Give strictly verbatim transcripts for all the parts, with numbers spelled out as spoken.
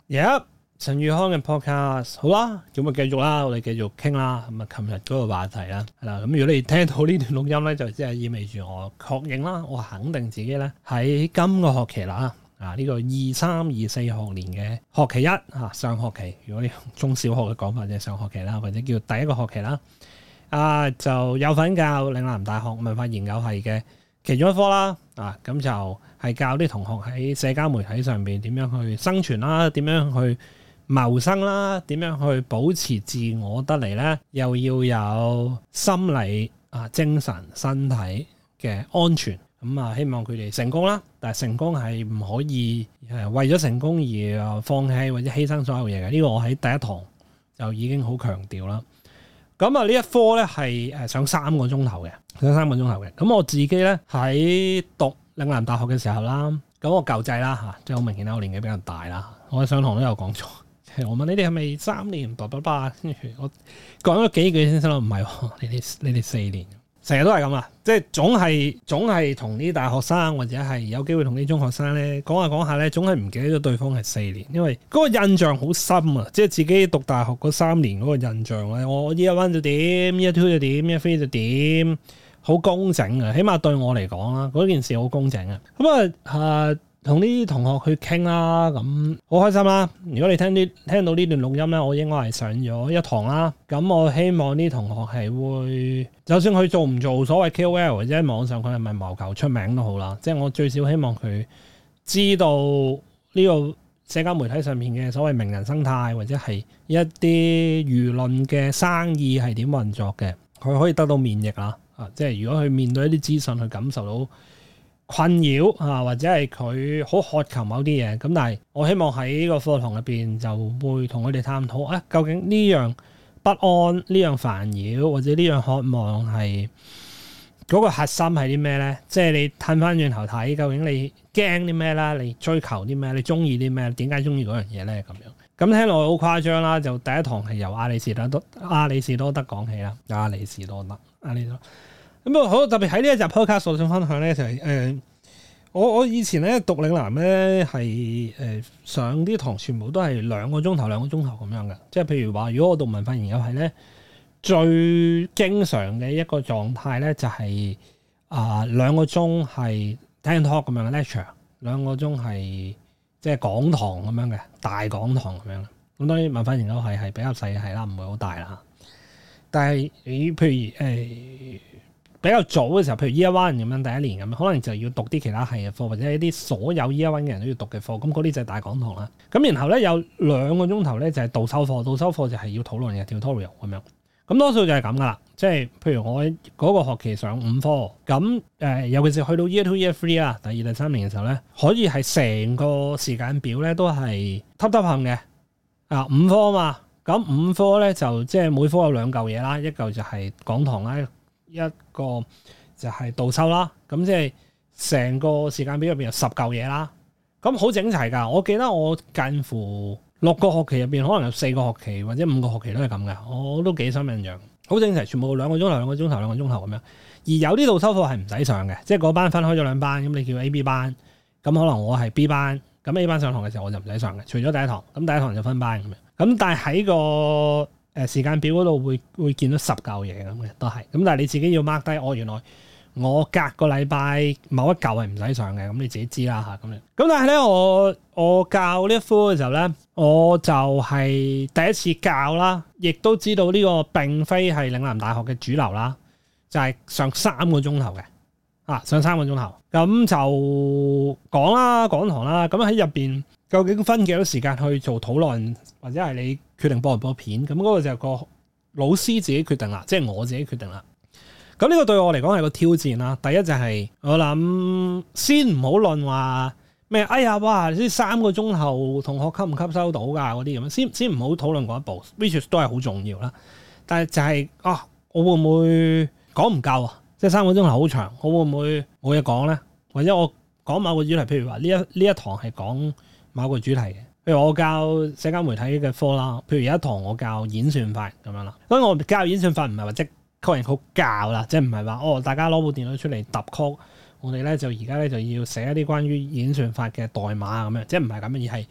Yep， 陳宇康嘅 podcast 好啦，咁啊繼續啦，我哋繼續傾啦。咁啊，琴日嗰個話題啦，係啦。咁如果你聽到呢段錄音咧，就即係意味住我確認啦，我肯定自己咧喺今個學期啦，啊呢個二三二四學年嘅學期一啊上學期，如果你用中小學嘅講法，就係上學期啦，或者叫第一個學期啦，啊就有份教嶺南大學文化研究系嘅其中一科啦，啊咁就係教啲同學喺社交媒體上邊點樣去生存啦，點樣去謀生啦，點樣去保持自我得嚟咧，又要有心理啊、精神、身體嘅安全。咁啊，希望佢哋成功啦。但係成功係唔可以誒為咗成功而放棄或者犧牲所有嘢嘅。呢個我喺第一堂就已經好強調啦。咁啊，呢一科咧係誒上三個鐘頭嘅，上三個鐘頭嘅。咁我自己咧喺讀嶺南大學嘅時候啦，咁我舊制啦嚇，即係好明顯啦，我年紀比較大啦。我上堂都有講錯，我問你哋係咪三年？叭叭叭，跟住我講咗幾句先生咯，唔係喎，你哋你哋四年。成日都係咁啊，即係總係總係同啲大學生或者係有機會同啲中學生咧講下講下咧，總係唔記得咗對方係四年，因為嗰個印象好深啊！即係自己讀大學嗰三年嗰個印象咧，我 year one 就點 year two 就點 year three 就點，好工整啊！起碼對我嚟講啦，嗰件事好工整啊！咁啊啊〜同啲同學去傾啦，咁好開心啦！如果你聽啲聽到呢段錄音咧，我應該係上咗一堂啦。咁我希望啲同學係會，就算佢做唔做所謂 K O L 或者喺網上佢係咪謀求出名都好啦。即係我最少希望佢知道呢個社交媒體上面嘅所謂名人生態，或者係一啲輿論嘅生意係點運作嘅，佢可以得到免疫啦。啊，即係如果佢面對一啲資訊，去感受到困擾啊，或者係佢好渴求某啲嘢，咁但係我希望喺呢個課堂入邊就會同佢哋探討啊，究竟呢樣不安、呢樣煩擾或者呢樣渴望係嗰個核心係啲咩咧？即係你褪翻轉頭睇，究竟你驚啲咩啦？你追求啲咩？你中意啲咩？點解中意嗰樣嘢咧？咁樣咁聽落好誇張啦！就第一堂係由亞里士多德、亞里士多德講起啦，亞里士多德、亞里士多德。咁啊，好特別喺呢一集 podcast 我想分享咧，就係、是、誒、呃，我我以前咧讀嶺南咧係誒上啲堂全部都係兩個鐘頭兩個鐘頭咁樣嘅，即係譬如話，如果我讀文化研究系咧，最經常嘅一個狀態咧就係啊兩個鐘係聽 talk 咁樣嘅 lecture， 兩個鐘係即係講堂咁樣嘅大講堂咁樣。咁當然文化研究系係比較細嘅系啦，唔會好大啦。但係你譬如誒。呃比較早嘅時候，譬如 year one 咁樣第一年咁樣，可能就要讀啲其他系嘅課，或者一啲所有 year one 嘅人都要讀嘅課。咁嗰啲就係大講堂啦。咁然後咧有兩個鐘頭咧就係導修課，導修課就係要討論嘅 tutorial 咁樣。咁多數就係咁噶啦。即係譬如我嗰個學期上五科，咁誒、呃、尤其是去到 year two year three 啦，第二第三年嘅時候咧，可以係成個時間表咧都係揼揼冚嘅。啊五科啊嘛，咁五科咧就即係每科有兩嚿嘢啦，一嚿就係講堂啦。一個就係導修啦，咁即係成個時間表入邊有十嚿嘢啦，咁好整齊㗎。我記得我近乎六個學期入邊，可能有四個學期或者五個學期都係咁嘅，我都幾深印象。好整齊，全部兩個鐘頭、兩個鐘頭、兩個鐘頭咁樣。而有啲導修課係唔使上嘅，即係嗰班分開咗兩班，咁你叫 A、B 班，咁可能我係 B 班，咁 A 班上堂嘅時候我就唔使上嘅，除咗第一堂，咁第一堂就分班咁樣。咁但係喺個誒時間表嗰度會會見到十嚿嘢咁嘅，都係咁。但係你自己要 mark 低，我、哦、原來我隔個禮拜某一嚿係唔使上嘅，咁你自己知啦嚇咁樣。咁但係咧，我我教呢一科嘅時候咧，我就係第一次教啦，亦都知道呢個並非係嶺南大學嘅主流啦，就係、是、上三個鐘頭嘅啊，上三個鐘頭咁就講啦，講堂啦，咁喺入邊究竟分幾多時間去做討論，或者係你決定播唔播片，咁嗰個就係個老師自己決定啦，即係我自己決定啦。咁呢個對我嚟講係個挑戰啦。第一就係我諗先唔好論話咩，哎呀哇，呢三個鐘頭同學吸唔吸收到㗎嗰啲咁樣，先先唔好討論嗰一步 ，which 都係好重要啦。但係就係、是、啊，我會唔會講唔夠啊？即係三個鐘頭好長，我會唔會冇嘢講咧？或者我講某個主題，譬如話呢一呢一堂係講某個主題嘅。譬如我教社交媒體嘅科啦，譬如有一堂我教演算法咁樣啦。所以我教演算法唔係話即係人好教啦，即係唔係話哦大家攞部電腦出嚟揼曲，我哋咧就而家咧就要寫一啲關於演算法嘅代碼咁樣，即係唔係咁樣，而係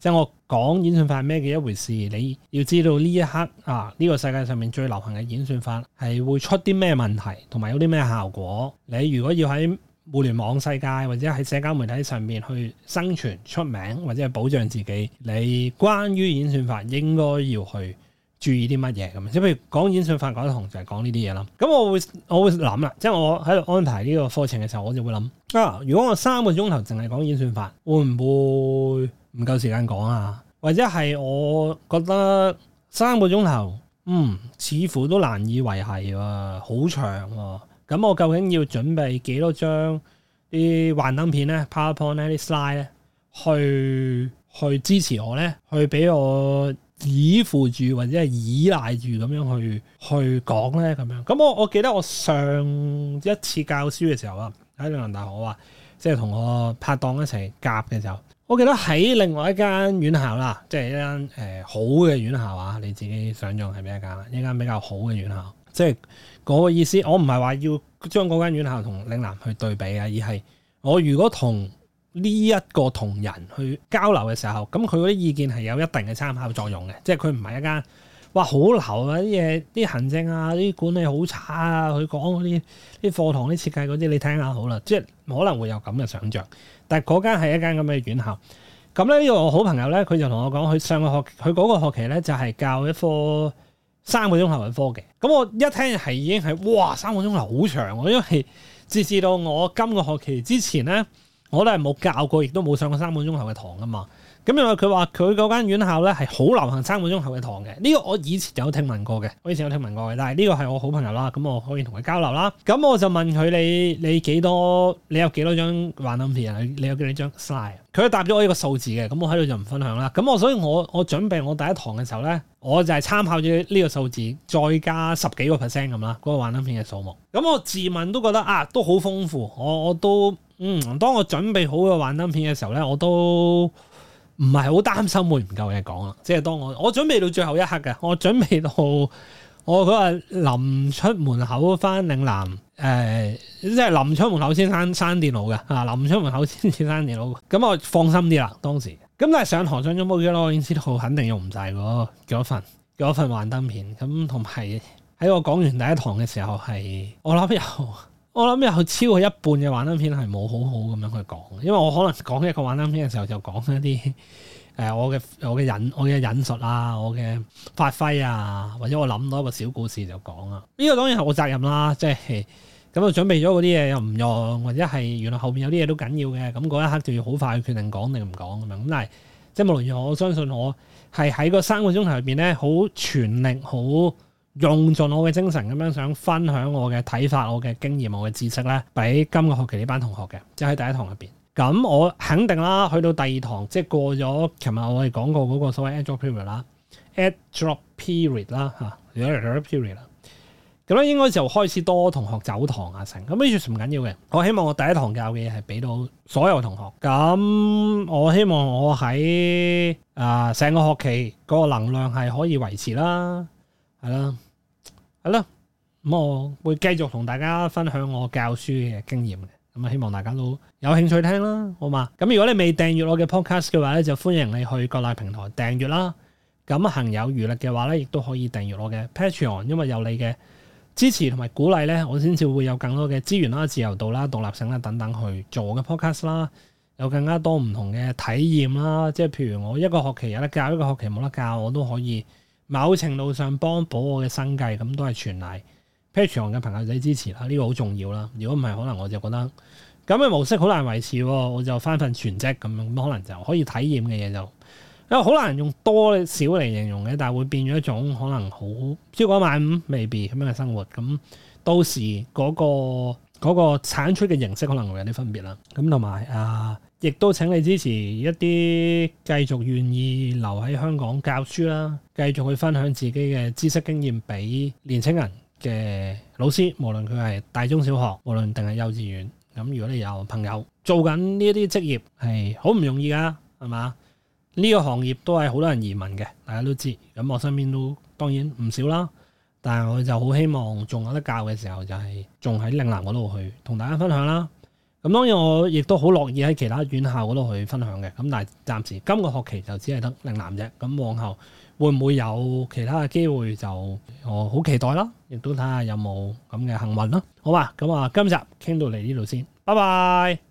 即係我講演算法係咩嘅一回事，你要知道呢一刻啊，呢個世界上面最流行嘅演算法係會出啲咩問題，同埋有啲咩效果。你如果要喺互聯網世界或者喺社交媒體上面去生存出名或者係保障自己，你關於演算法應該要去注意啲乜嘢咁？即係譬如講演算法嗰一堂就係講呢啲嘢啦。咁我會我會諗啦，即係我喺度安排呢個課程嘅時候，我就會諗啊，如果我三個鐘頭淨係講演算法，會唔會唔夠時間講啊？或者係我覺得三個鐘頭，嗯，似乎都難以維繫喎，好長喎。咁我究竟要準備幾多張啲幻燈片咧、PowerPoint 咧、啲 slide 咧，去去支持我咧，去俾我依附住或者係依賴住咁樣去去講咧咁樣。咁我我記得我上一次教書嘅時候啊，喺嶺南大學啊，即係同我拍檔一齊夾嘅時候，我記得喺另外一間院校啦，即係一間誒、呃、好嘅院校啊，你自己想象係邊一間啦？一間比較好嘅院校，即係嗰個意思。我唔係話要將嗰間院校同嶺南去對比啊，而係我如果同呢一個同仁去交流嘅時候，咁佢嗰啲意見係有一定嘅參考作用嘅，即係佢唔係一間哇好流啊啲嘢，啲行政啊啲管理好差啊，佢講嗰啲啲課堂啲設計嗰啲，你聽下好啦，即係可能會有咁嘅想像。但係嗰間係一間咁嘅院校，咁咧呢個我好朋友咧，佢就同我講，佢上個學佢嗰個學期咧就係教一科三個鐘頭嘅科嘅。咁我一聽係已經係哇三個鐘頭好長喎，因為截至到我今個學期之前咧，我都係冇教過，亦都冇上過三個鐘頭嘅堂噶嘛。咁因為佢話佢嗰間院校咧係好流行三個鐘頭嘅堂嘅，呢個我以前有聽聞過嘅，我以前有聽聞過嘅。但係呢個係我好朋友啦，咁我可以同佢交流啦。咁我就問佢，你你幾多？你有幾多張幻燈片啊？你有幾多張 slide？佢答咗我一個數字嘅，咁我喺度就唔分享啦。咁我所以我我準備我第一堂嘅時候咧，我就係參考咗呢個數字，再加十幾個 percent 咁啦，嗰個幻燈片嘅數目。咁我自問都覺得啊，都好豐富。我我都嗯，當我準備好個幻燈片嘅時候咧，我都唔係好擔心會唔夠嘢講啦，即係當我我準備到最後一刻嘅，我準備到我嗰日臨出門口翻嶺南，誒、呃，即係臨出門口先閂閂電腦嘅，啊，臨出門口先至閂電腦，咁我放心啲啦當時。咁但係上堂上咗冇幾耐，我已經知道肯定用唔晒嗰嗰份嗰份幻燈片，咁同埋喺我講完第一堂嘅時候係，我諗有。我諗有超過一半嘅幻燈片係冇好好咁樣去講，因為我可能講一個幻燈片嘅時候就講一啲誒、呃、我嘅我嘅引我嘅引述啊，我嘅發揮啊，或者我諗到一個小故事就講啦。呢、這個當然係我責任啦，即係咁我準備咗嗰啲嘢又唔用，或者係原來後邊有啲嘢都緊要嘅，咁嗰一刻就要好快去決定講定唔講咁樣。咁但係即係無論如何，我相信我係喺個三個鐘頭入邊咧，好全力好。用盡我嘅精神咁樣想分享我嘅睇法、我嘅經驗、我嘅知識咧，俾今個學期呢班同學嘅，即係喺第一堂入邊。咁我肯定啦，去到第二堂，即係過咗琴日我哋講過嗰個所謂 add drop period 啦，add drop period 啦嚇 add drop period 啦。咁咧應該就開始多同學走堂啊成，咁呢啲唔緊要嘅。我希望我第一堂教嘅嘢係俾到所有同學。咁我希望我喺啊成個學期嗰個能量係可以維持啦。係啦，係啦，咁我會繼續同大家分享我教書嘅經驗嘅，咁啊希望大家都有興趣聽啦，好嘛？咁如果你未訂閱我嘅 podcast 嘅話咧，就歡迎你去各大平台訂閱啦。咁行有餘力嘅話咧，亦都可以訂閱我嘅 Patreon， 因為有你嘅支持同埋鼓勵咧，我先至會有更多嘅資源啦、自由度啦、獨立性啦等等去做我嘅 podcast 啦，有更加多唔同嘅體驗啦。即係譬如我一個學期有得教，一個學期冇得教，我都可以。某程度上幫補我嘅生計，咁都係全賴 Patreon 嘅朋友仔支持啦，呢個好重要啦。如果唔係，可能我就覺得咁嘅模式好難維持，我就翻份全職咁樣，可能就可以體驗嘅嘢就，因為好難用多少嚟形容嘅，但係會變咗一種可能好超過一萬五未必咁樣嘅生活。咁到時嗰個嗰個產出嘅形式可能會有啲分別啦。咁同埋啊。亦都請你支持一啲繼續願意留喺香港教書啦，繼續去分享自己嘅知識經驗俾年輕人嘅老師，無論佢係大中小學，無論定係幼稚園。咁如果你有朋友做緊呢一啲職業係好唔容易㗎，係嘛？呢個行業都係好多人移民嘅，大家都知。咁我身邊都當然唔少啦，但係我就好希望仲有得教嘅時候，就係仲喺嶺南嗰度去同大家分享啦。 咁當然我亦都好樂意喺其他院校嗰度去分享嘅。咁但係暫時今個學期就只係得嶺南啫。咁往後會唔會有其他嘅機會就我好期待啦，亦都睇下有冇咁嘅幸運啦。好嘛，咁啊今集傾到嚟呢度先，拜拜。